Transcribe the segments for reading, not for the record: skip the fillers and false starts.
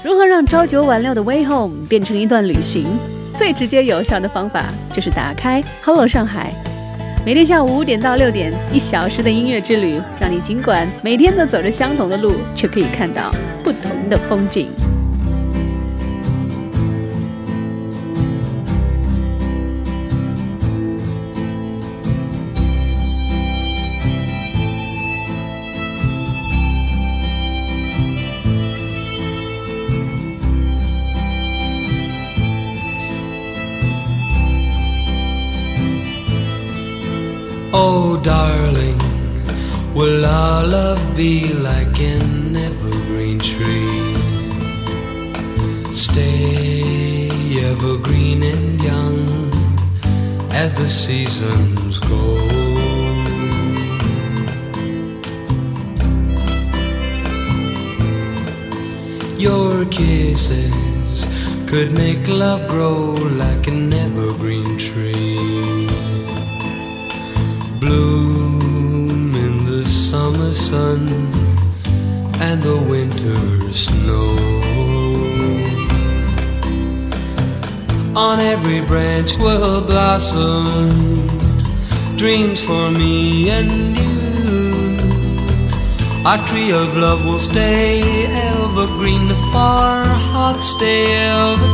如何让朝九晚六的 Way Home 变成一段旅行？最直接有效的方法就是打开 Hello 上海，每天下午5点到6点，1小时的音乐之旅，让你尽管每天都走着相同的路，却可以看到不同的风景。 Oh darling, will our love be like an evergreen tree? Stay evergreen and young as the seasons go. Your kisses could make love grow like an evergreen tree.Bloom in the summer sun and the winter snow. On every branch will blossom dreams for me and you. Our tree of love will stay evergreen, for our hearts stay ever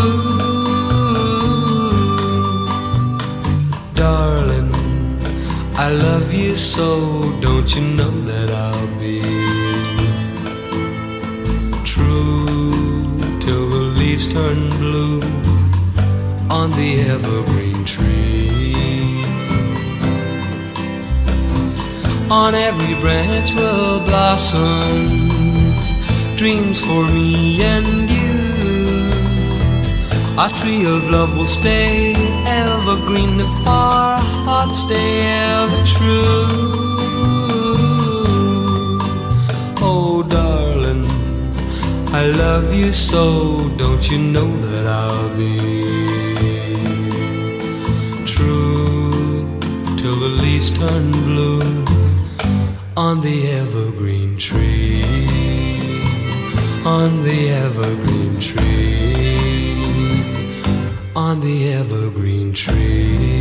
true.Darling,I love you so, don't you know that I'll be true till the leaves turn blue on the evergreen tree. On every branch will blossom dreams for me and you.Our tree of love will stay evergreen, if our hearts stay ever true. Oh darling, I love you so, don't you know that I'll be true till the leaves turn blue on the evergreen tree, on the evergreen tree.On the evergreen tree.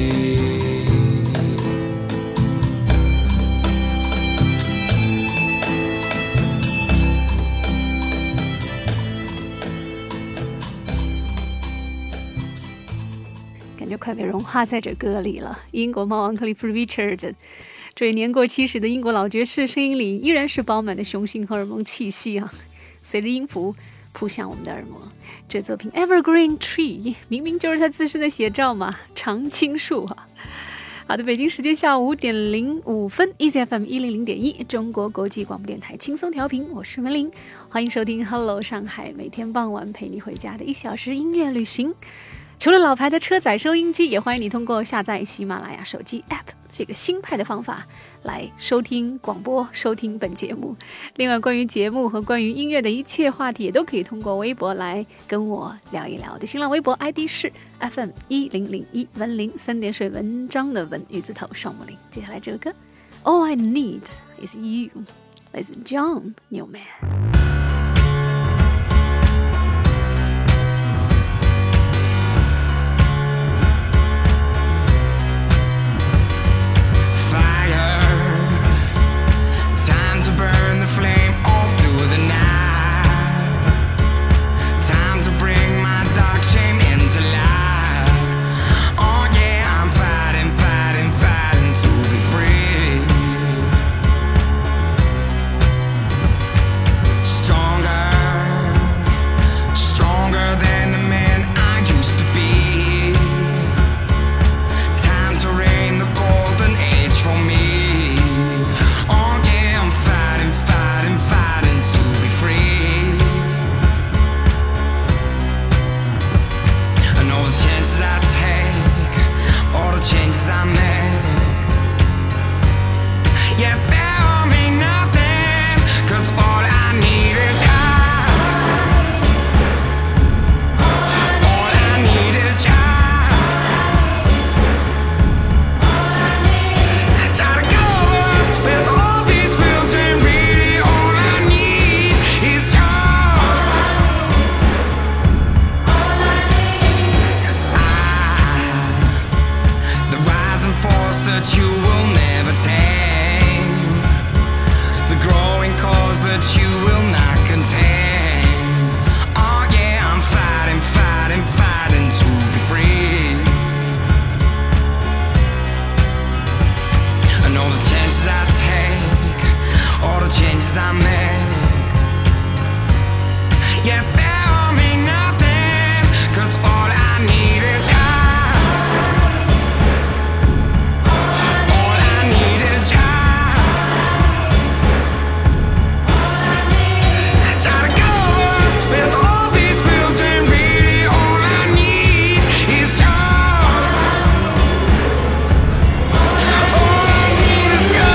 感觉快被融化在这歌里了。英国猫王克利夫 Richard， 这位年过70的英国老爵士，声音里依然是饱满的雄性荷尔蒙气息啊，随着音符扑向我们的耳膜。这作品 Evergreen Tree 明明就是他自身的写照嘛，常青树啊。好的，北京时间下午5点05分 ，Easy FM 100.1，中国国际广播电台轻松调频，我是文玲，欢迎收听 Hello 上海，每天傍晚陪你回家的1小时音乐旅行。除了老牌的车载收音机，也欢迎你通过下载喜马拉雅手机 App 这个新派的方法来收听广播，收听本节目。另外，关于节目和关于音乐的一切话题，也都可以通过微博来跟我聊一聊的。新浪微博 ID 是 FM1001 文林3点水文章的文，玉字头双木林。接下来这个歌 All I Need Is You， 来自 John Newman.Fire, time to burn the flame all through the night. Yeah, tell me nothing, 'cause all I need is you. All I need is you. Try to go with all these thrills and really all I need is you. All I need is you.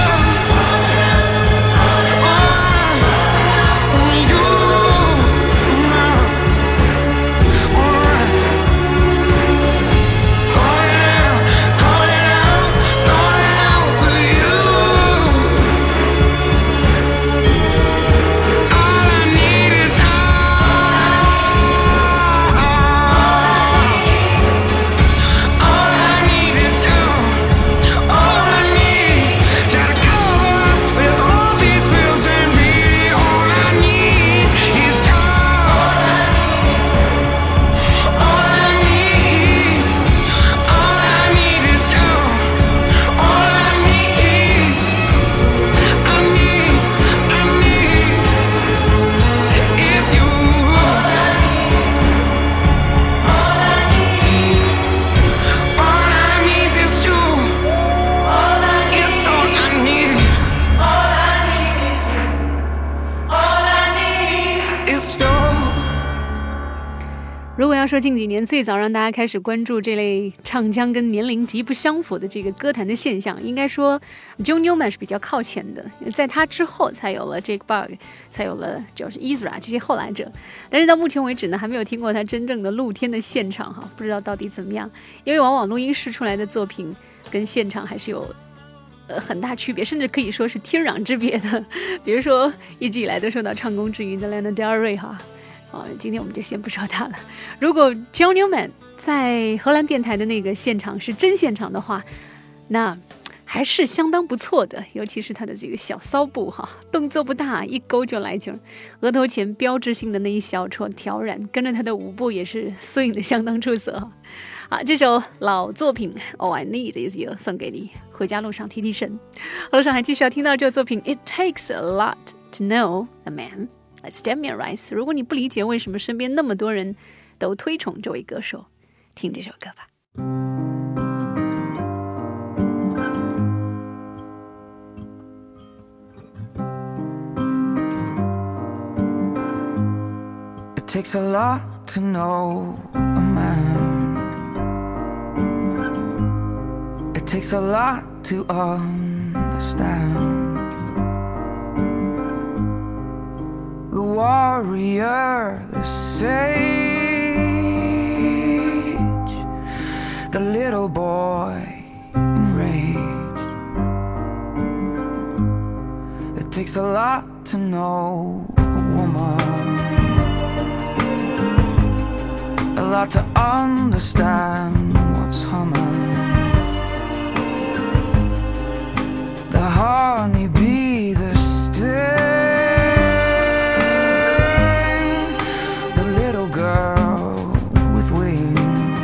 如果要说近几年最早让大家开始关注这类唱腔跟年龄极不相符的这个歌坛的现象，应该说 John Newman 是比较靠前的，在他之后才有了 Jake Bugg， 才有了就是 Ezra 这些后来者。但是到目前为止呢，还没有听过他真正的露天的现场哈，不知道到底怎么样。因为往往录音室出来的作品跟现场还是有很大区别，甚至可以说是天壤之别的。比如说一直以来都受到唱功之云的 Lana Del Rey 哈。今天我们就先不说他了。如果 John Newman 在荷兰电台的那个现场是真现场的话，那还是相当不错的，尤其是他的这个小骚步哈，动作不大，一勾就来劲儿，额头前标志性的那一小撮挑染，跟着他的舞步也是 swing 的相当出色。好，这首老作品 All I Need Is You 送给你，回家路上提提神。路上还继续要听到这首作品 It Takes a Lot to Know a Man。Let's Damian Rice。如果你不理解为什么身边那么多人都推崇这位歌手，听这首歌吧。 It takes a lot to know a man. It takes a lot to understand.The warrior, the sage, the little boy enraged. It takes a lot to know a woman, a lot to understand what's humming. The honeybee, the sting,girl with wings.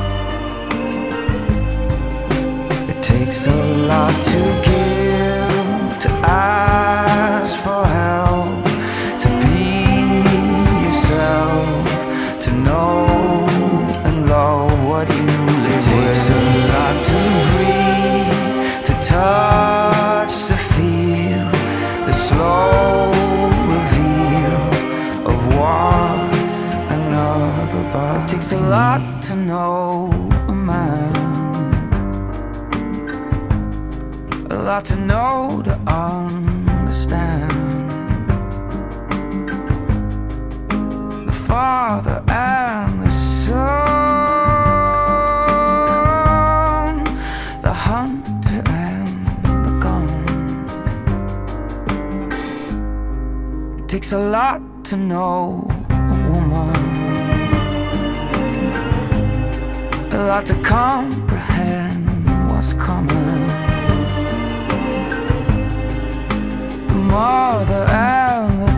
It takes a lot to give, to ask for help, to be yourself, to know and love what you live with. It takes a lot to breathe, to touch, to feel the slow reveal of what.It takes a lot to know a man, a lot to know to understand. The Father and the Son, the hunter and the gun. It takes a lot to know a woman,a lot to comprehend what's coming. The mother and the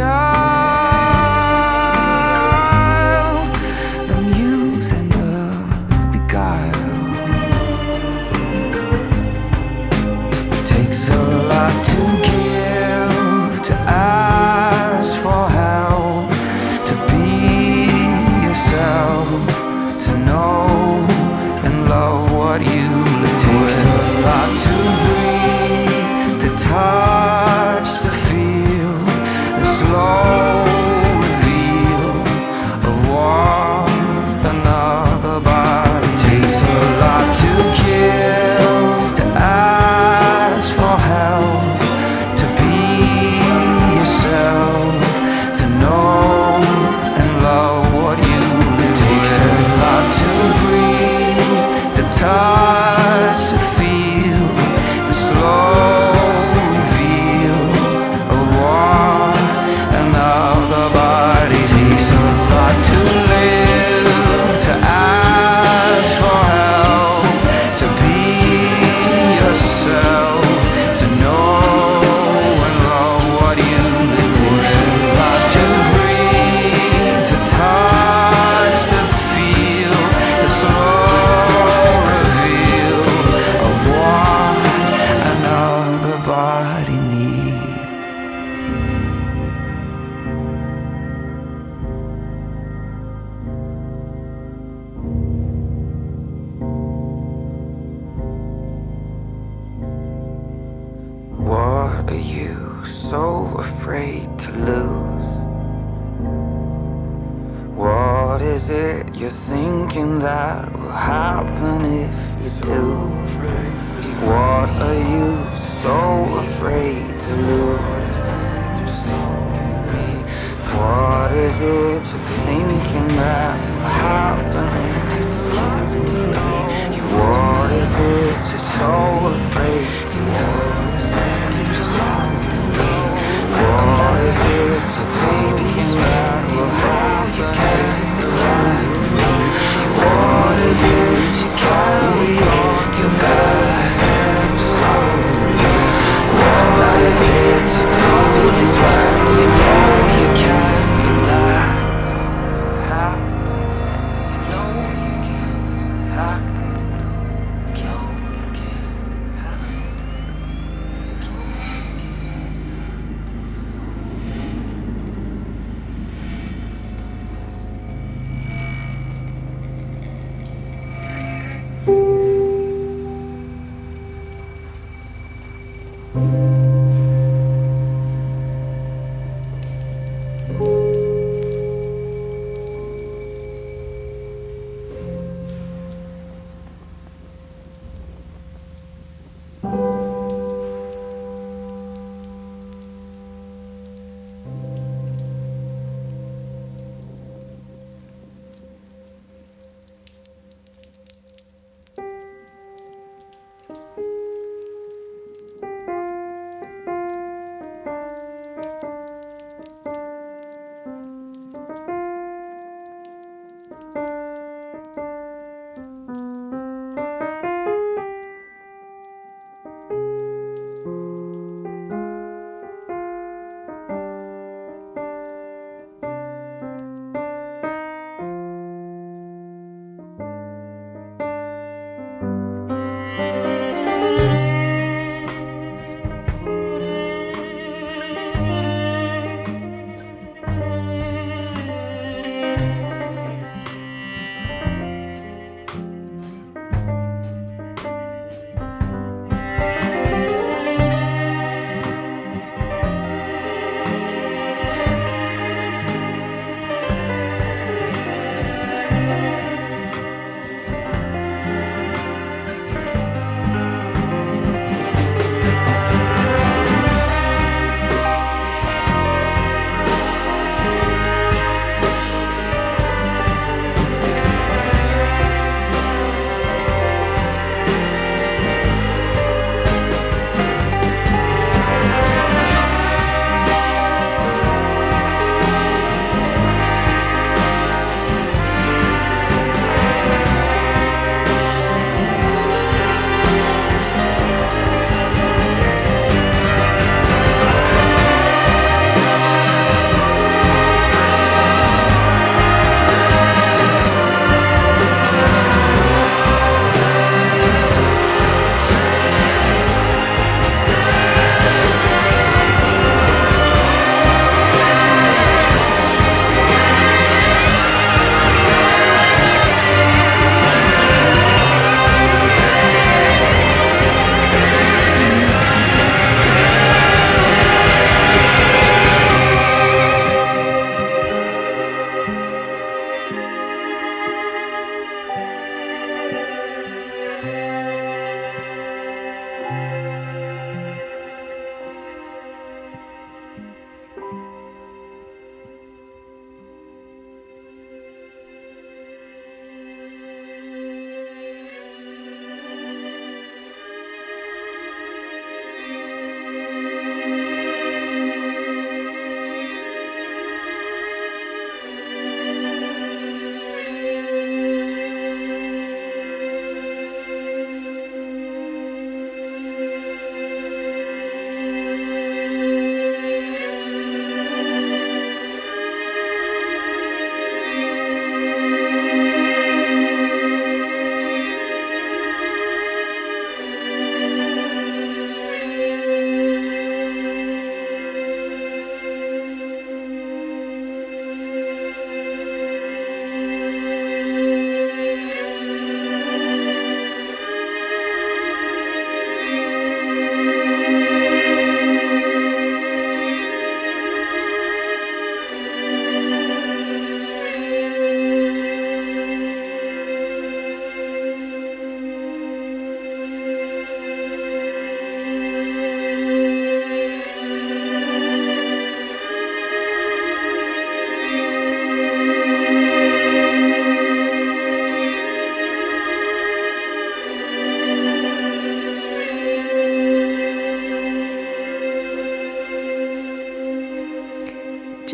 child, the muse and the beguile. It takes a lot to give, to ask for help, to What is it you're thinking that will happen if you do? What are you so afraid to lose? What is it you're thinking that will happen? What is it you're so afraid to lose? What is it you're thinking that will happen? What is it you carry on your back? What is it you notice when you know you can't rely? Have to know you can't. Have to know you can't. Have to know you can't.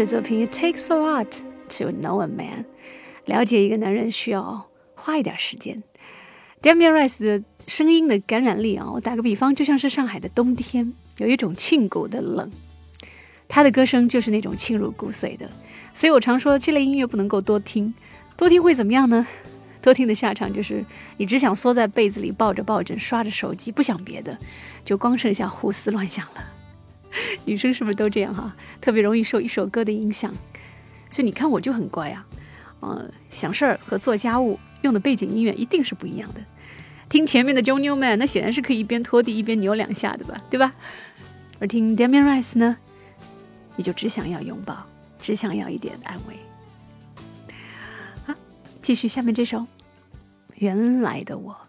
是作品 It takes a lot to know a man。 了解一个男人需要花一点时间。 Damien Rice 的声音的感染力我打个比方，就像是上海的冬天，有一种沁骨的冷。他的歌声就是那种沁入骨髓的，所以我常说这类音乐不能够多听，多听会怎么样呢？多听的下场就是你只想缩在被子里抱着抱枕刷着手机，不想别的，就光剩下胡思乱想了。女生是不是都这样哈？特别容易受一首歌的影响。所以你看我就很乖想事儿和做家务用的背景音乐一定是不一样的。听前面的 John Newman 那显然是可以一边拖地一边扭两下的吧，对吧？而听 Damien Rice 呢，你就只想要拥抱，只想要一点安慰。好，继续下面这首原来的我。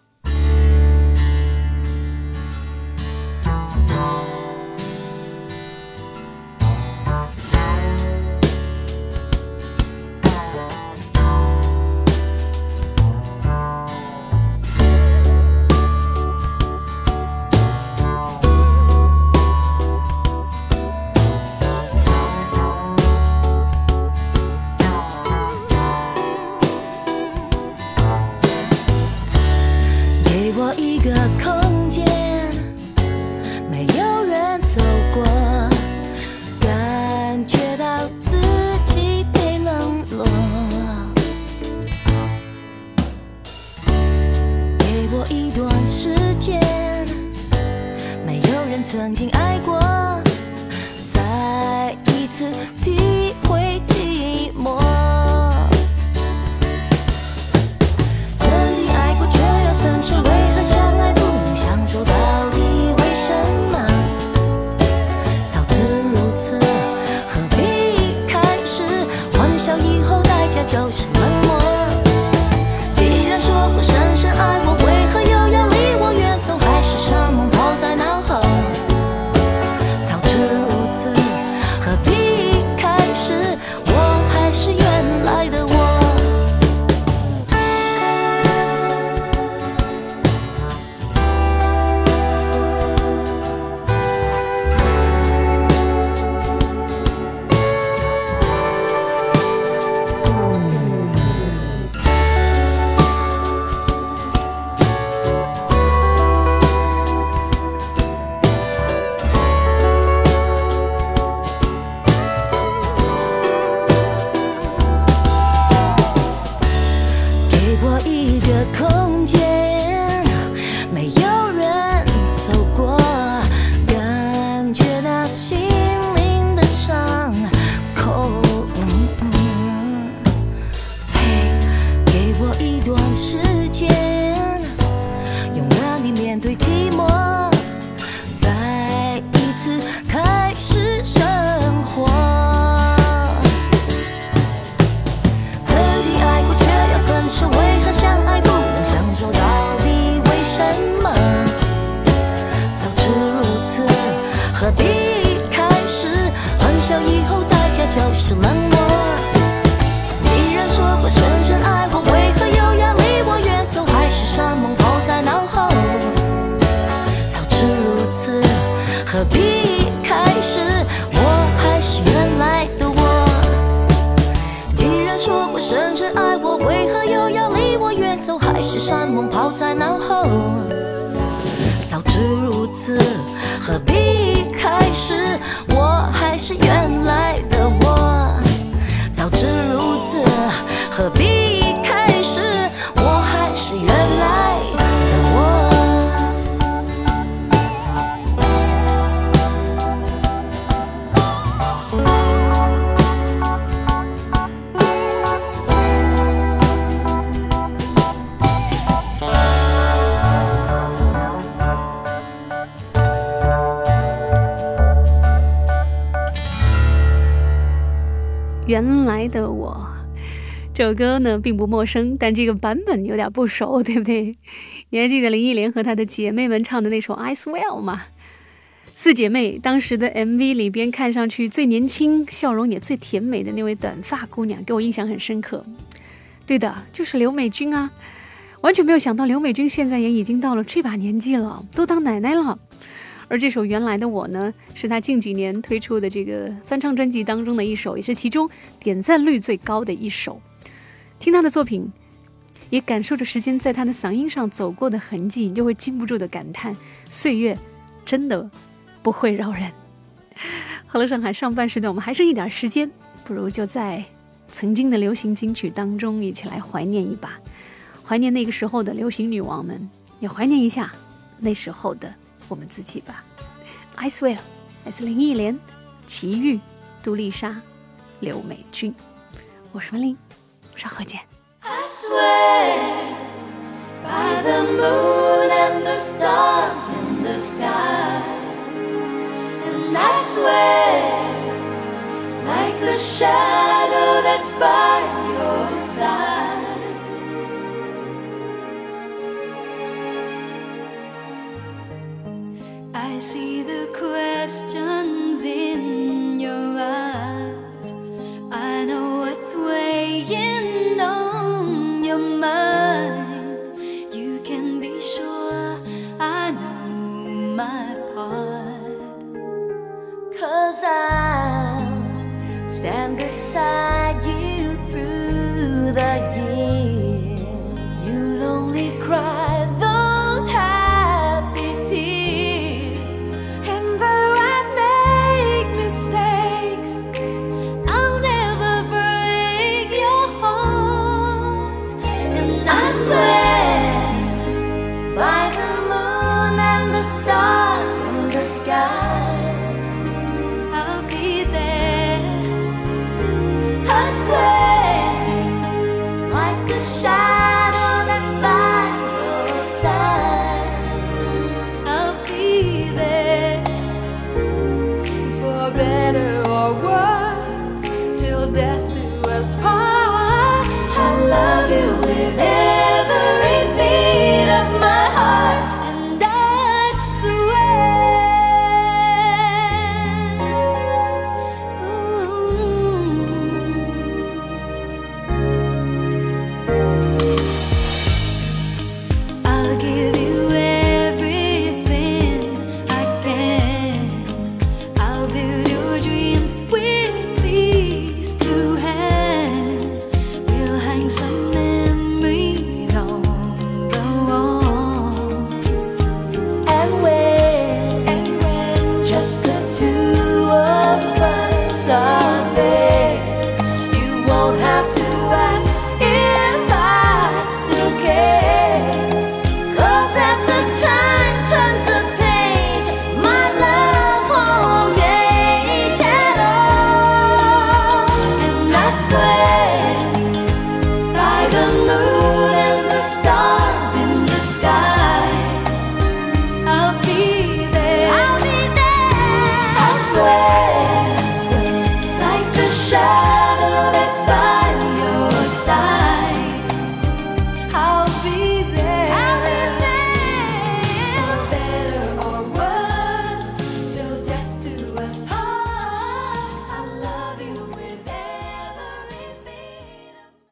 曾经爱过，再一次体会寂寞。曾经爱过却要分手，为何相爱不能相守？到底为什么？早知如此，何必开始？欢笑以后代价就是冷漠。既然说过深深爱我，为何又要离我远走？还是什么抛在脑后？何必开始？我还是原来的我。就是冷漠。既然说过深深爱我，为何又要离我远走？还是山盟抛在脑后。早知如此，何必开始？我还是原来的我。既然说过深深爱我，为何又要离我远走？还是山盟抛在脑后。早知如此，何必开始？我还是原来的我。早知如此，何必开始？我还是原来的我。 原来的我，这首歌呢并不陌生，但这个版本有点不熟，对不对？你还记得林忆莲和她的姐妹们唱的那首 I Swear 吗？四姐妹当时的 MV 里边看上去最年轻，笑容也最甜美的那位短发姑娘，给我印象很深刻。对的，就是刘美君啊！完全没有想到刘美君现在也已经到了这把年纪了，都当奶奶了。 而这首《原来的我》呢，是他近几年推出的这个翻唱专辑当中的一首，也是其中点赞率最高的一首。听他的作品，也感受着时间在他的嗓音上走过的痕迹，你就会禁不住的感叹，岁月真的不会饶人。好了，上海上半时段我们还剩一点时间，不如就在曾经的流行金曲当中一起来怀念一把，怀念那个时候的流行女王们，也怀念一下那时候的我们自己吧。 I swear 来自林忆莲、齐豫、杜丽莎、刘美君。我是文玲，稍后见。 I swear by the moon and the stars in the skies, and I swear like the shadow that's by your side, I see the questions in your eyes, I know what's weighing on your mind. You can be sure I know my part, 'cause I'll stand beside you through the